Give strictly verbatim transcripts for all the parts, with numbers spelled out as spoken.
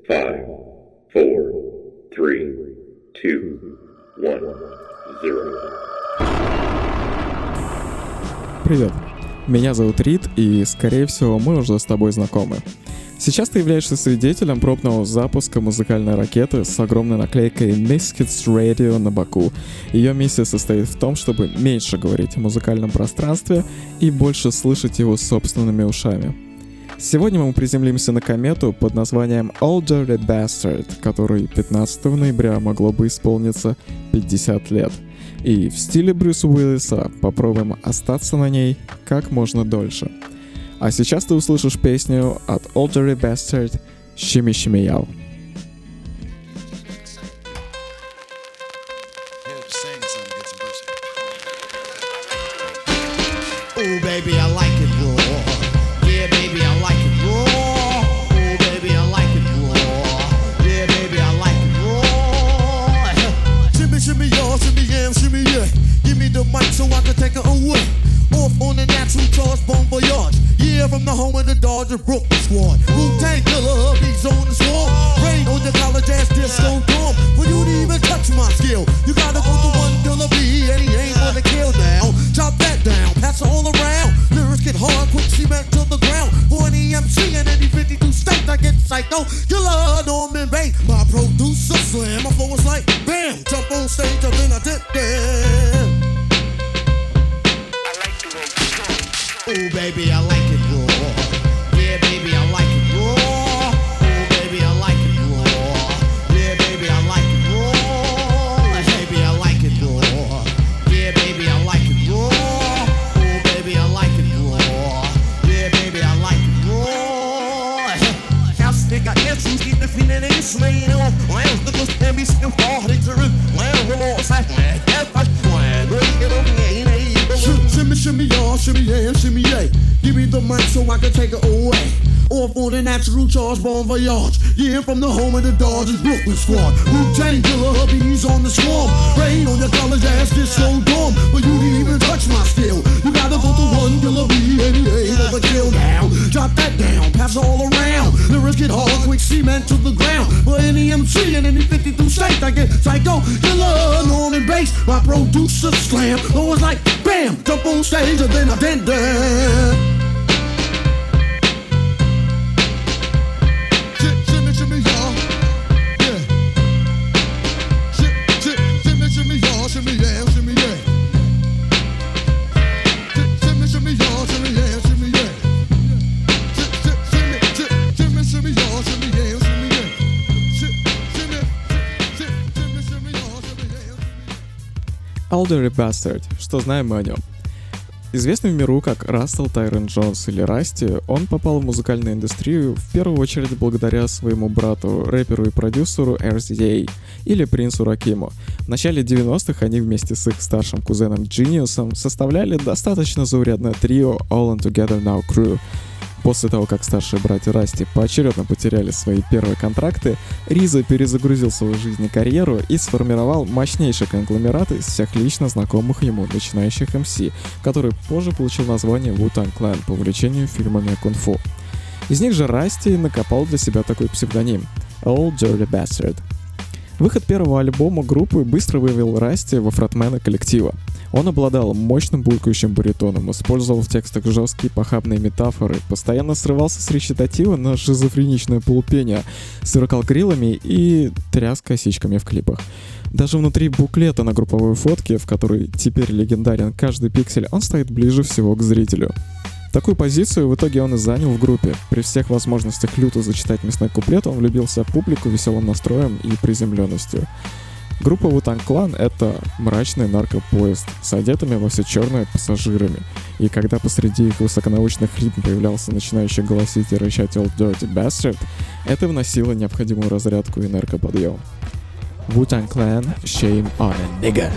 five, four, three, two, one, zero. Привет, меня зовут Рид, и, скорее всего, мы уже с тобой знакомы. Сейчас ты являешься свидетелем пробного запуска музыкальной ракеты с огромной наклейкой Misfits Radio на боку. Ее миссия состоит в том, чтобы меньше говорить о музыкальном пространстве и больше слышать его собственными ушами. Сегодня мы приземлимся на комету под названием Old Dirty Bastard, которой пятнадцатого ноября могло бы исполниться пятьдесят лет. И в стиле Брюса Уиллиса попробуем остаться на ней как можно дольше. А сейчас ты услышишь песню от Old Dirty Bastard «Shimmy Shimmy Yow». Oh baby, I like it raw. Yeah, baby, I like it raw. Oh baby, I like it raw. Yeah, baby, I like it raw. Shimmy, shimmy, y'all, shimmy, yeah, shimmy, yeah. Give me the mic so I can take it away. Off on the natural charge, bon voyage. Yeah, from the home of the Dodger Brooklyn squad. Wu-Tang Killer, beats on the swarm. Rain on your college ass disco dorm. For you to even touch my skill, you gotta go to one Killer B, and he ain't gonna kill now. Chop that down, pass it all around. Lyrics get hard, quick cement to the ground. For any M C in any fifty-two states, I get psycho. Killer, Norman Bates, my producer slam. My flow is like bam, jump on stage, and then I dip there. Oh baby, I like it raw. Yeah, baby, I like it raw. Oh baby, I like it raw. Yeah, baby, I like it raw. Baby, I like it raw. Yeah, baby, I like it raw. Oh baby, I like it raw. Yeah, baby, I like it raw. House nigga, answers get the feeling in his lane. Lambs the most can be still hard to rip. Lambs remorse, I have I swear. Break it over, ain't Shimmy, shimmy, y'all, shimmy, yeah, shimmy, yeah. Give me the mic so I can take it away. Off on the natural charge, bon voyage. Yeah, from the home of the Dodgers, Brooklyn squad. Wu-Tang Killer, hubby's on the swarm. Rain on your college ass, disco dorm. But you didn't even touch my skill. You gotta go to one Killer B, and he ain't gonna kill now. Drop that down, pass it all around. Lyrics get hard, quick cement to the ground. For any M C in any fifty-two states, I get psycho. Killer, Norman Bates, my producer slam. Always like bam, jump on stage and then I did that. Shimmy, shimmy, y'all, yeah. Shimmy, shimmy, y'all, shimmy, yeah, shimmy, yeah. Shimmy, shimmy, y'all, shimmy, yeah, shimmy, yeah. Shimmy, shimmy, shimmy, y'all, shimmy, yeah, shimmy, yeah. Shimmy, shimmy, shimmy, y'all, shimmy, yeah. Old Dirty Bastard. Что знаем мы о нем? Известный в миру как Рассел Тайрон Джонс или Расти, он попал в музыкальную индустрию в первую очередь благодаря своему брату, рэперу и продюсеру эр си эй, или Принцу Ракиму. В начале девяностых они вместе с их старшим кузеном Джиниусом составляли достаточно заурядное трио All In Together Now Crew. После того, как старшие братья Расти поочередно потеряли свои первые контракты, Риза перезагрузил свою жизнь и карьеру и сформировал мощнейший конгломерат из всех лично знакомых ему начинающих эм си, который позже получил название Wu-Tang Clan по увлечению фильмами кунг-фу. Из них же Расти накопал для себя такой псевдоним — Old Dirty Bastard. Выход первого альбома группы быстро вывел Расти во фронтмена коллектива. Он обладал мощным булькающим баритоном, использовал в текстах жесткие похабные метафоры, постоянно срывался с речитатива на шизофреничное полупение, сверкал крилами и тряс косичками в клипах. Даже внутри буклета на групповой фотке, в которой теперь легендарен каждый пиксель, он стоит ближе всего к зрителю. Такую позицию в итоге он и занял в группе. При всех возможностях люто зачитать мясной куплет он влюбился в публику веселым настроем и приземленностью. Группа Wu-Tang Clan — это мрачный наркопоезд с одетыми во все черное пассажирами. И когда посреди их высоконаучных ритм появлялся начинающий голосить и рычать Old Dirty Bastard, это вносило необходимую разрядку и энергоподъем. Wu-Tang Clan — Shame on a Nigga.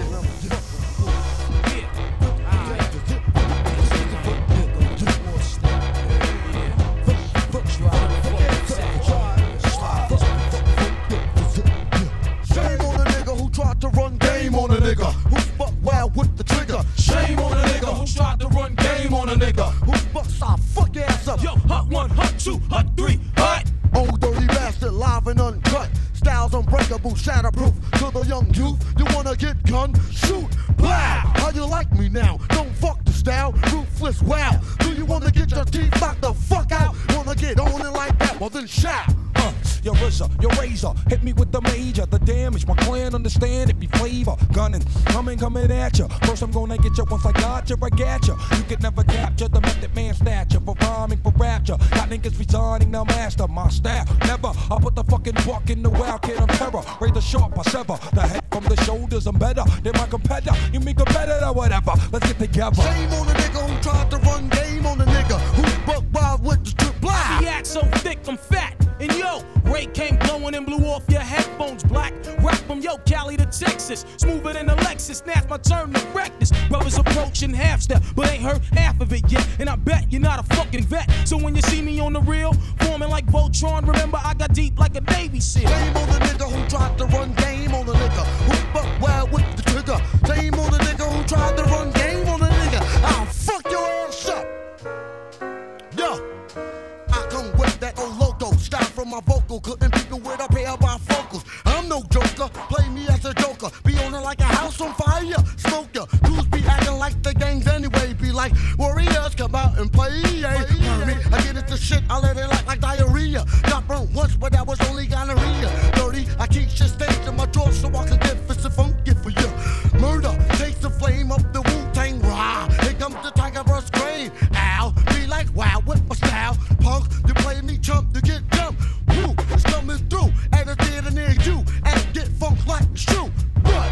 Two, hot three, hot. Old dirty bastard, live and uncut. Styles unbreakable, shatterproof. To the young youth, you wanna get gun? Shoot, blah. How you like me now? Don't fuck the style, ruthless, wow. Do you wanna get your teeth knocked the fuck out? Wanna get on it like that? Well then shout. Uh, your R Z A, your razor, hit me with the major. The damage, my clan understand it be flavor. Gunning, coming, coming at ya. First I'm gonna get ya, once I got ya, I got ya. You could never capture the method man stature. For rhyming, for rapture. Got niggas resigning, now master my style. Never, I put the fucking buck in the wild kid of terror. Razor sharp, I sever. The head from the shoulders, I'm better than my competitor. You mean competitor, whatever. Let's get together. Shame on the nigga who tried to run game on the nigga who buck wild with the strip blah. The act so thick, I'm fat. And yo, Ray came blowing and blew off your headphones black. Rap from yo, Cali to Texas. Smoother than a Lexus, now's my turn to wreck this. Brothers approaching half step, but ain't heard half of it yet. And I bet you're not a fucking vet. So when you see me on the real, forming like Voltron, remember I got deep like a Navy SEAL. Shame on the nigga who tried to run game on the nigga who buck wild with the trigger. Shame on the nigga who tried to run game on the nigga. I'll fuck your ass up. Yo, I come with that old logo. Style from my vocal, couldn't people with a pair of bifocals. I'm no joker, play me as a joker. Be on it like a house on fire, smoker. Dudes be acting like the gangs anyway. Be like warriors, come out and play. Yeah. Me, I get into shit, I let it like, like diarrhea. Got burnt once, but that was only gonorrhea. Dirty, I keep shit stains in my drawer so I can get fits and funky for you. Murder, takes the flame up the Wu-Tang rah. Here comes the tiger burst grain. Ow, be like wow with my style. Punk, you play me chump, you get jumped. Woo, it's coming through at a theater near you. And get funk like it's true. But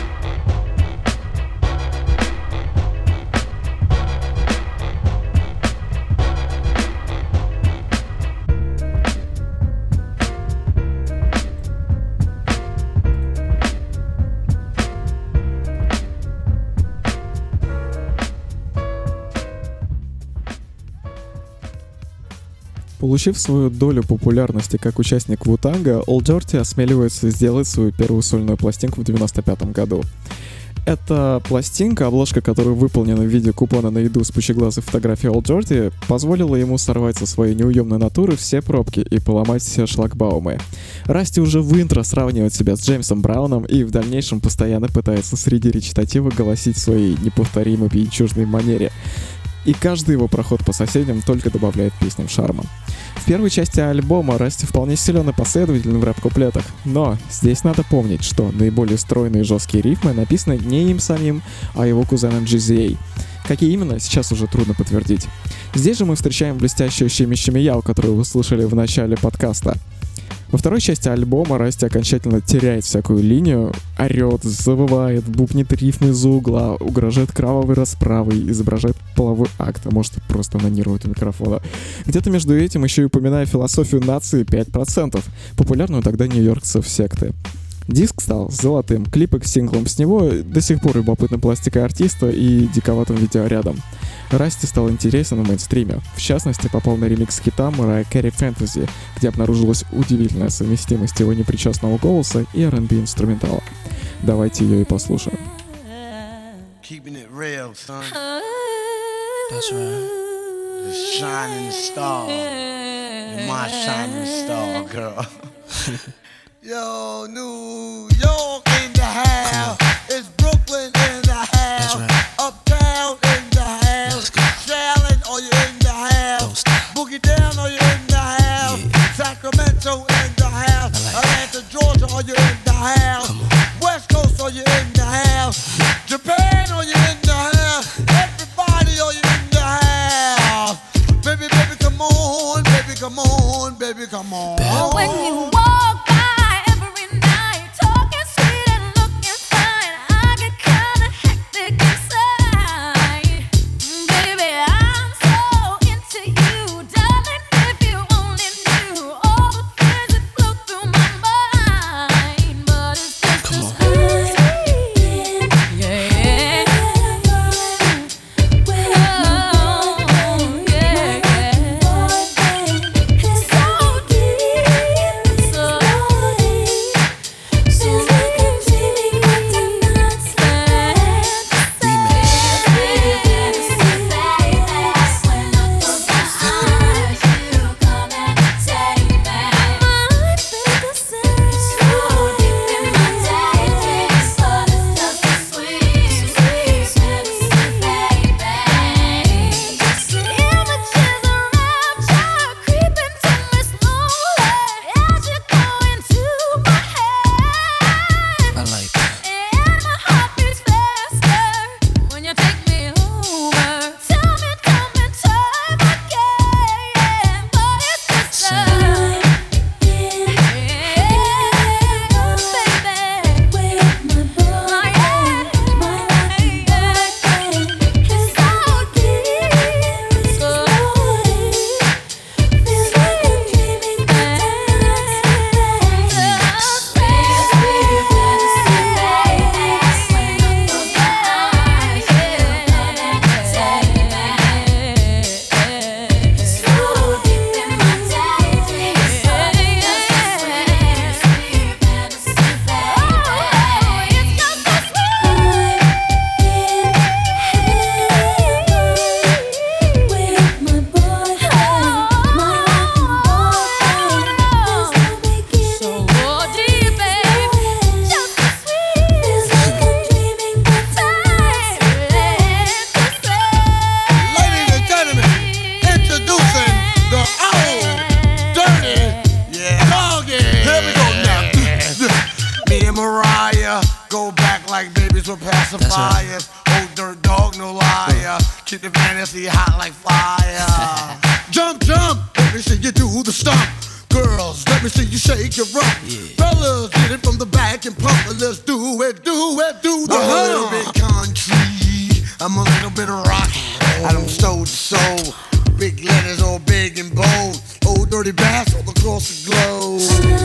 Получив свою долю популярности как участник Ву-Танга, Old Dirty осмеливается сделать свою первую сольную пластинку в девяносто пятом году. Эта пластинка, обложка которой выполнена в виде купона на еду с пучеглазой фотографией Old Dirty, позволила ему сорвать со своей неуемной натуры все пробки и поломать все шлагбаумы. Расти уже в интро сравнивает себя с Джеймсом Брауном и в дальнейшем постоянно пытается среди речитатива голосить в своей неповторимой пьянчужной манере. И каждый его проход по соседям только добавляет песням шарма. В первой части альбома Расти вполне силен и последователен в рэп-куплетах, но здесь надо помнить, что наиболее стройные и жесткие рифмы написаны не им самим, а его кузеном джи зет эй. Какие именно, сейчас уже трудно подтвердить. Здесь же мы встречаем блестящую Шими Шими Яу, которую вы слышали в начале подкаста. Во второй части альбома Расти окончательно теряет всякую линию, орёт, завывает, бубнит рифмы из-за угла, угрожает кровавой расправой, изображает половой акт, а может просто анонирует у микрофона. Где-то между этим еще и упоминая философию нации пять процентов, популярную тогда нью-йоркцев секты. Диск стал золотым, клипы к синглам с него до сих пор любопытной пластикой артиста и диковатым видеорядом. Расти стал интересен в мейнстриме. В частности, попал на ремикс хита Mariah Carey Fantasy, где обнаружилась удивительная совместимость его непричастного голоса и ар энд би инструментала. Давайте ее и послушаем. keeping it real, son. That's right. The shining star. You're my shining star, girl. Yo, New York in the house. It's Brooklyn in the house. Right. Uptown in the house. Charlotte, are you in the house? Boogie down, are you in the house? Yeah. Sacramento in the house. Like Atlanta, Georgia, are you in the house? West Coast, are you in the house? Japan, are you in the house? Everybody, are you in the house? Baby, baby, come on, baby, come on, baby, come on. But when you walk by every night, talking sweet and looking fine, I get kinda hectic inside. Baby, I'm so into you, darling. If you only knew all the things that flow through my mind, but it's just as good. Yeah, yeah. Oh, yeah, yeah. It's so deep, so Mariah. Go back like babies with pacifiers. Old dirt dog, no liar. Keep the fantasy hot like fire. Jump, jump, let me see you do the stomp. Girls, let me see you shake your rump. Yeah. Fellas, get it from the back and pump it. Let's do it, do it, do the I'm a little bit country, I'm a little bit rock. I don't soul to soul. Big letters all big and bold. Old dirty bass all across the globe.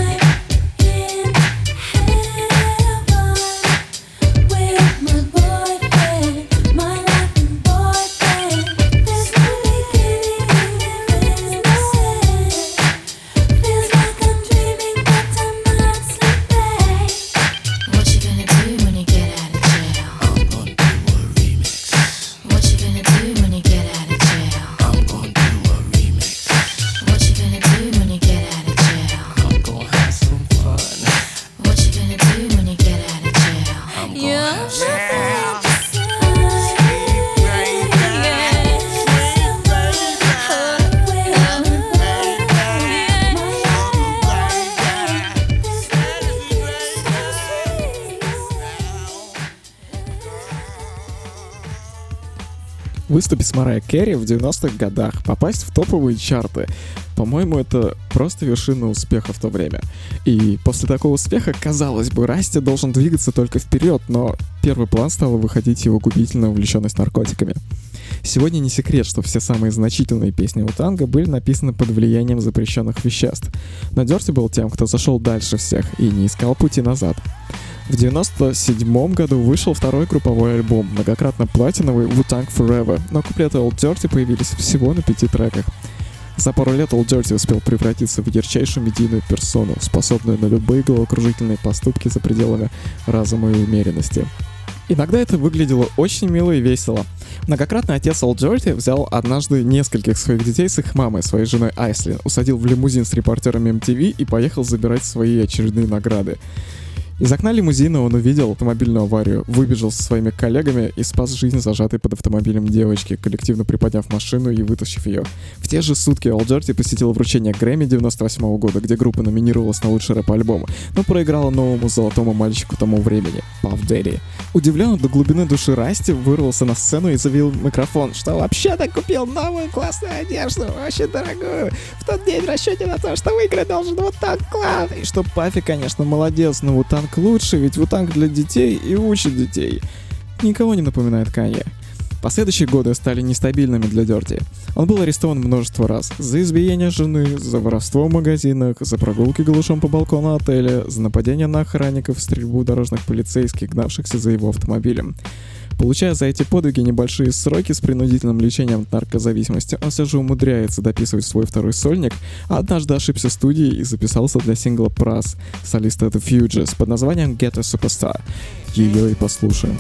Выступить с Марайей Кэрри в девяностых годах, попасть в топовые чарты. По-моему, это просто вершина успеха в то время. И после такого успеха, казалось бы, Расти должен двигаться только вперед, но первый план стала выходить его губительная увлеченность наркотиками. Сегодня не секрет, что все самые значительные песни Wu-Танга были написаны под влиянием запрещенных веществ. Но Дёрти был тем, кто зашел дальше всех и не искал пути назад. В девяносто седьмом году вышел второй групповой альбом, многократно платиновый Wu-Tang Forever, но куплеты Old Dirty появились всего на пяти треках. За пару лет Old Dirty успел превратиться в ярчайшую медийную персону, способную на любые головокружительные поступки за пределами разума и умеренности. Иногда это выглядело очень мило и весело. Многократный отец Old Dirty взял однажды нескольких своих детей с их мамой, своей женой Айслин, усадил в лимузин с репортерами эм ти ви и поехал забирать свои очередные награды. Из окна лимузина он увидел автомобильную аварию, выбежал со своими коллегами и спас жизнь зажатой под автомобилем девочки, коллективно приподняв машину и вытащив ее. В те же сутки Old Dirty посетил вручение Грэмми девяносто восьмого года, где группа номинировалась на лучший рэп-альбом, но проиграла новому золотому мальчику тому времени — Puff Daddy. Удивленный до глубины души Расти вырвался на сцену и заявил в микрофон, что вообще-то купил новую классную одежду, очень дорогую, в тот день в расчете на то, что выиграть должен Wu-Tang Clan, и что Паффи, конечно, молодец, но Wu-Tang лучше, ведь Wu-Tang для детей и учит детей. Никого не напоминает Канье. Последующие годы стали нестабильными для Дёрти. Он был арестован множество раз за избиение жены, за воровство в магазинах, за прогулки голышом по балкону отеля, за нападение на охранников, стрельбу дорожных полицейских, гнавшихся за его автомобилем. Получая за эти подвиги небольшие сроки с принудительным лечением от наркозависимости, он все же умудряется дописывать свой второй сольник, а однажды ошибся студией и записался для сингла «Прас» солиста The Fugees под названием «Get a Superstar». Ее и послушаем.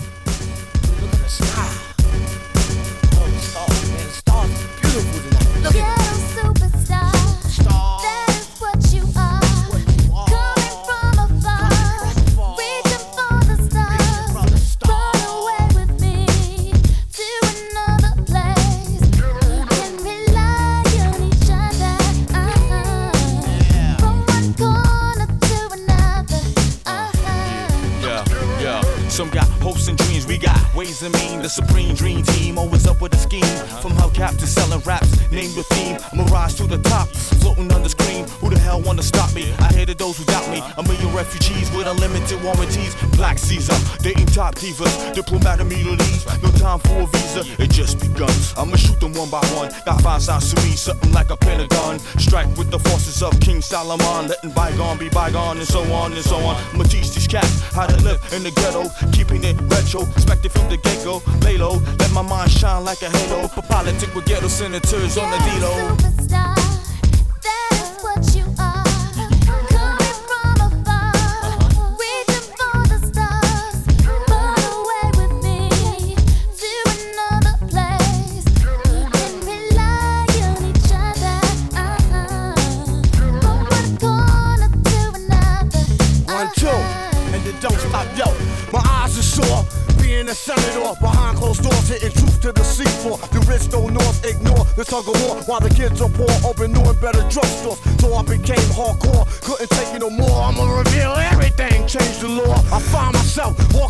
Some got hopes and dreams, we got ways and mean. The supreme dream team, always up with a scheme. From hubcap to selling raps, name the theme. I'm a rise to the top, floating on the screen. Who the hell wanna stop me? I hated those who doubt me. A million refugees with unlimited warranties. Black Caesar, dating top divas. Diplomat immunities, no time for a visa. It just begun. I'ma shoot them one by one. Got five sides to me, something like a pentagon. Strike with the forces of King Solomon. Letting bygone be bygone and so on and so on. I'ma teach these cats how to live in the ghetto. Keeping it retro, expected from the get-go. Lay low, let my mind shine like a halo. For politic with ghetto senators on the D-Lo. Superstar, that's what you are. Coming from afar, reaching for the stars. Run away with me to another place. And rely on each other. Uh-huh. From one corner to another. One, two, and then don't stop, yo. My eyes are sore, being a senator behind closed doors, hitting truth to the seafloor. The rich don't north ignore the tug of war, while the kids are poor, open new and better drugstores. So I became hardcore, couldn't take it no more. I'ma reveal everything, change the law.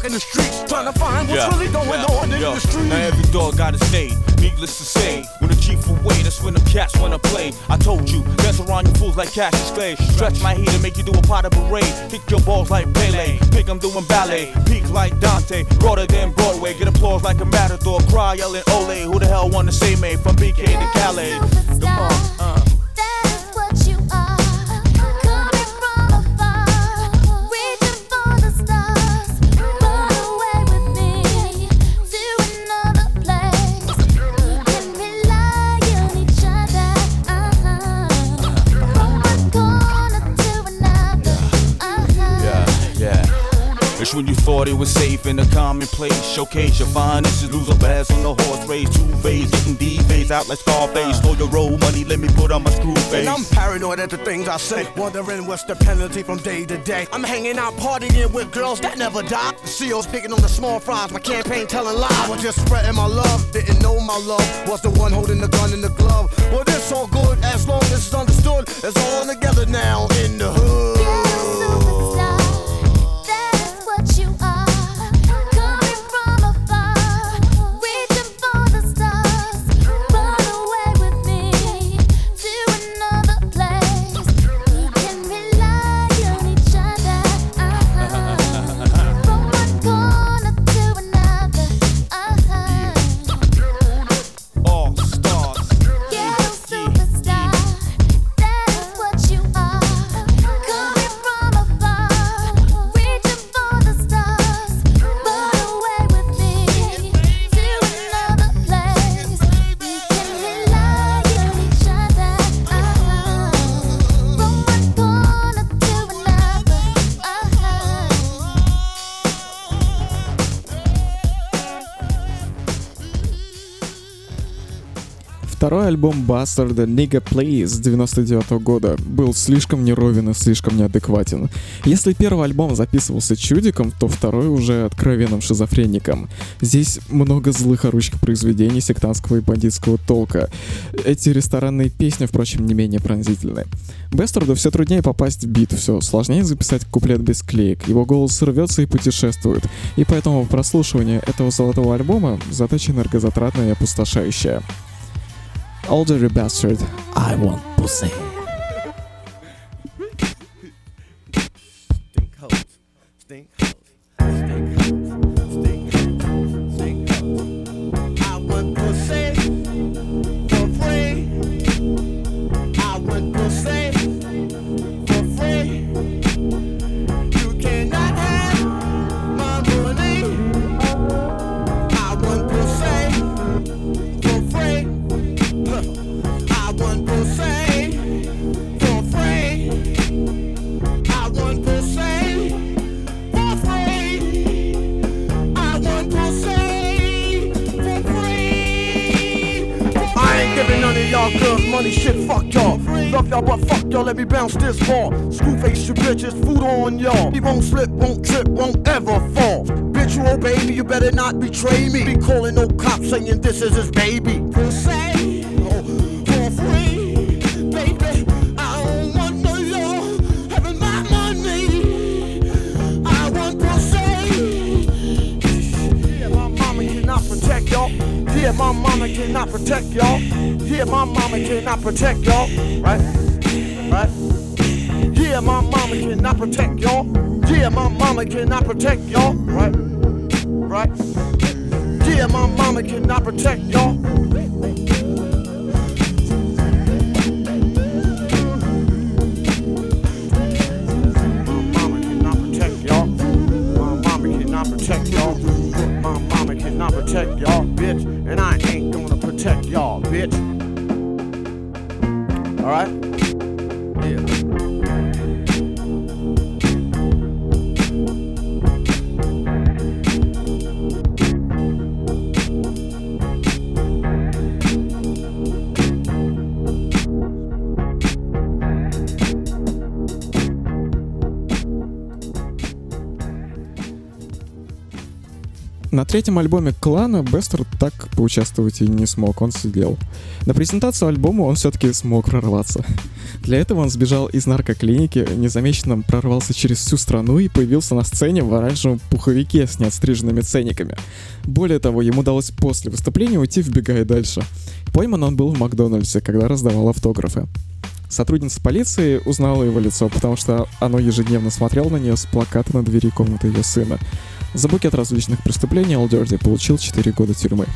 walking the streets, trying to find what's Yeah, really going yeah, on in yeah. the streets. Now every dog got his day, needless to say. When the chief away, that's when the cats wanna play. I told you, dance around you fools like Cassius Clay. Stretch my heat and make you do a pot of parade. Kick your balls like Pele, think I'm doing ballet. Peak like Dante, broader than Broadway. Get applause like a matador, cry yelling Ole. Who the hell wanna say me from B K to Calais? Come on, uh. It's when you thought it was safe in a commonplace. Showcase your finest, lose a bass on the horse race. Two phase, getting D-phase out like Scarface. Slow your roll money, let me put on my screw face. And I'm paranoid at the things I say, wondering what's the penalty from day to day. I'm hanging out partying with girls that never die. The C O's picking on the small fries, my campaign telling lies. I was just spreading my love, didn't know my love was the one holding the gun in the glove. Well, this all good as long as it's understood. It's all together now in the hood. Второй альбом Бастарда Nigga Play с девяносто девятого года был слишком неровен и слишком неадекватен. Если первый альбом записывался чудиком, то второй уже откровенным шизофреником. Здесь много злых орущих произведений сектантского и бандитского толка. Эти ресторанные песни, впрочем, не менее пронзительны. Бастарду все труднее попасть в бит, все сложнее записать куплет без клеек. Его голос рвется и путешествует. И поэтому прослушивание этого золотого альбома задача энергозатратная и опустошающая. All Dirty Bastard, I Want Pussy. Stink hoes, stink hoes, stink hoes, stink hoes, stink hoes. I want pussy for free. I want pussy for free. You cannot have my money. I want pussy for free. I want pussy for free. I want pussy for free. I want pussy for free. I ain't giving none of y'all girls money, shit, fuck y'all. Love y'all, but fuck y'all, let me bounce this ball. Screw face, you bitches, food on y'all. He won't slip, won't trip, won't ever fall. Bitch, you old baby, you better not betray me. Be calling no cops saying this is his baby. Pussy. Yeah, my mama cannot protect y'all. Yeah, my mama cannot protect y'all. Right? Right? Yeah, my mama cannot protect y'all. Yeah, my mama cannot protect y'all. Right? Right? Yeah, my mama cannot protect y'all. My mama cannot protect y'all. My mama cannot protect y'all. My mama cannot protect y'all, bitch. And I ain't gonna protect y'all, bitch. Alright? Yeah. На третьем альбоме Клана Бестер так поучаствовать и не смог, он сидел. На презентацию альбома он все-таки смог прорваться. Для этого он сбежал из наркоклиники, незамеченным прорвался через всю страну и появился на сцене в оранжевом пуховике с неотстриженными ценниками. Более того, ему удалось после выступления уйти, вбегая дальше. Пойман он был в Макдональдсе, когда раздавал автографы. Сотрудница полиции узнала его лицо, потому что оно ежедневно смотрело на нее с плаката на двери комнаты ее сына. За букет различных преступлений Old Dirty получил четыре года тюрьмы.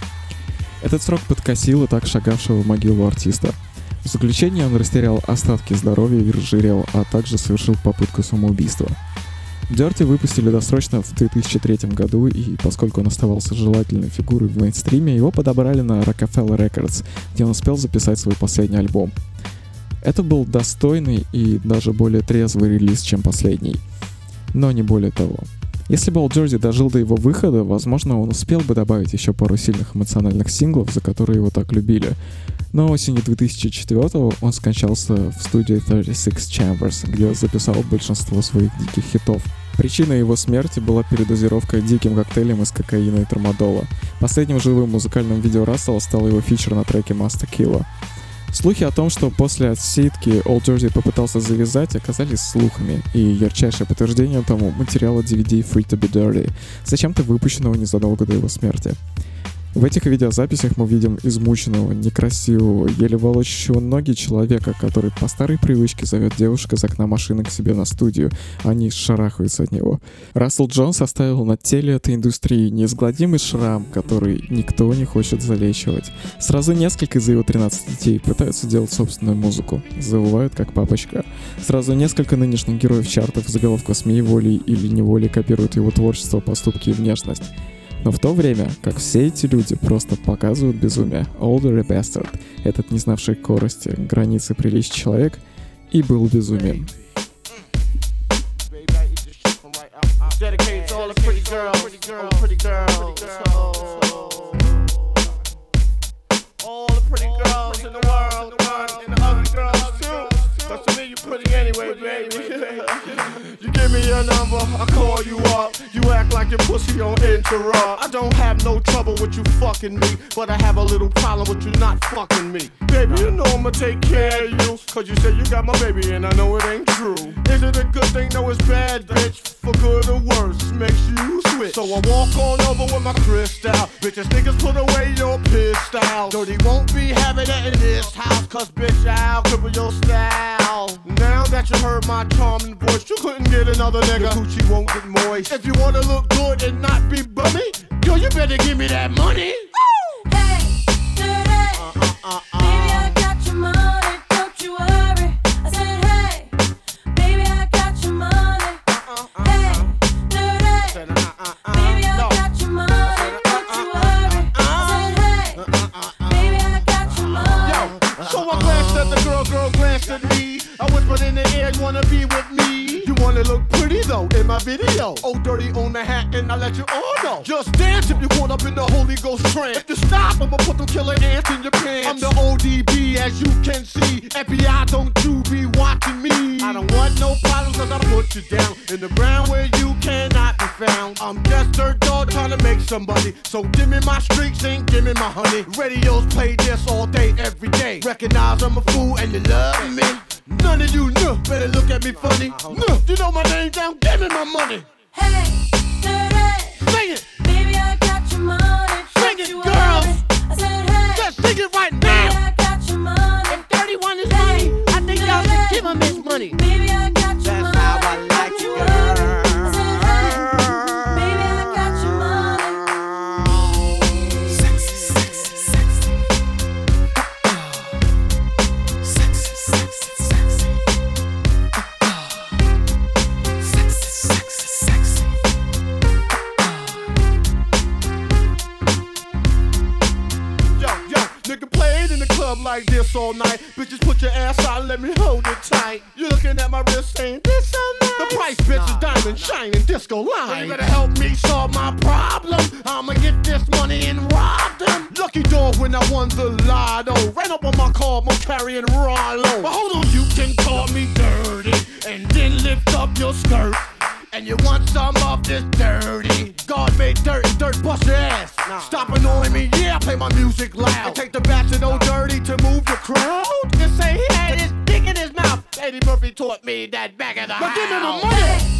Этот срок подкосил и так шагавшего в могилу артиста. В заключении он растерял остатки здоровья и разжирел, а также совершил попытку самоубийства. Dirty выпустили досрочно в две тысячи третьем году, и поскольку он оставался желательной фигурой в мейнстриме, его подобрали на Rockefeller Records, где он успел записать свой последний альбом. Это был достойный и даже более трезвый релиз, чем последний. Но не более того. Если бы Old Dirty дожил до его выхода, возможно, он успел бы добавить еще пару сильных эмоциональных синглов, за которые его так любили. Но осенью две тысячи четвёртого он скончался в студии тридцать шесть Chambers, где записал большинство своих диких хитов. Причиной его смерти была передозировка диким коктейлем из кокаина и трамадола. Последним живым музыкальным видео Рассела стал его фичер на треке Master Killa. Слухи о том, что после отсидки Old Dirty попытался завязать, оказались слухами, и ярчайшее подтверждение тому материала ди ви ди Free to be Dirty, зачем-то выпущенного незадолго до его смерти. В этих видеозаписях мы видим измученного, некрасивого, еле волочащего ноги человека, который по старой привычке зовет девушек из окна машины к себе на студию, а они шарахаются от него. Рассел Джонс оставил на теле этой индустрии неизгладимый шрам, который никто не хочет залечивать. Сразу несколько из его тринадцати детей пытаются делать собственную музыку, завывают как папочка. Сразу несколько нынешних героев чартов заголовка СМИ волей или неволей копируют его творчество, поступки и внешность. Но в то время, как все эти люди просто показывают безумие, Old Dirty Bastard, этот не знавший корости, границы приличия человек, и был безумием. You give me your number, I call you up. You act like your pussy on interrupt. I don't have no trouble with you fucking me, but I have a little problem with you not fucking me. Baby, you know I'ma take care of you, cause you say you got my baby and I know it ain't true. Is it a good thing? No, it's bad, bitch. For good or worse, makes you switch. So I walk on over with my crystal. Bitches, niggas, put away your pistol. Dirty won't be having it in this house, cause bitch, I'll cripple your style. Now that you heard my charming voice, you couldn't get another nigga. Your coochie won't get moist. If you wanna look good and not be bummy, yo, you better give me that money. Hey, dirty. Uh, uh, uh, uh. Baby, I got your money, don't you worry. I said, hey, baby, I got your money. Hey, dirty. Baby, I got your money, don't you worry. I said, hey, baby, I got your money. Yo, so I glanced at the girl, girl glanced at me. I whispered in the air, you wanna be with me? You wanna look pretty though in my video. Old Dirty on the hat and I let you all know. Just dance if you want up in the Holy Ghost trance. If you stop, I'ma put them killer ants in your pants. I'm the O D B as you can see. F B I, don't you be watching me. I don't want no problems cause I put you down in the ground where you cannot be found. I'm just dirt dog trying to make somebody. So give me my streaks and give me my honey. Radios play this all day, every day. Recognize I'm a fool and you love me. None of you know, better look at me funny. No, you know my name down, give me my money. Hey, dirty. Sing it, Baby, I got your money. Sing don't it, you girls. worry. I said, hey, just sing it right baby, now. I got your money. If thirty-one is Hey, money, I think y'all should give him his money. Baby, I got your That's money. how I like don't it, you girl. worry. I said, hey, baby, I got your money. Sexy, sexy, sexy. Sexy, sexy, sexy. Sexy, sexy, sexy. Yo, yo, nigga played in the club like this all night. Bitches, put your ass out and let me hold it tight. You looking at my wrist saying, this so nice. The price, bitch, is diamond shining disco line. You better help me solve my problem. I'ma get this money and rob them. Lucky dog when I won the lotto. Ran up on my car, I'm carrying Rollo. But hold on, you can call me dirty and then lift up your skirt. And you want some of this dirty? God made dirt and dirt bust your ass. Nah. Stop annoying me, yeah, play my music loud. Take the bats and old dirty to move the crowd. Just say he had his dick in his mouth. Eddie Murphy taught me that back of the house. But give me my money.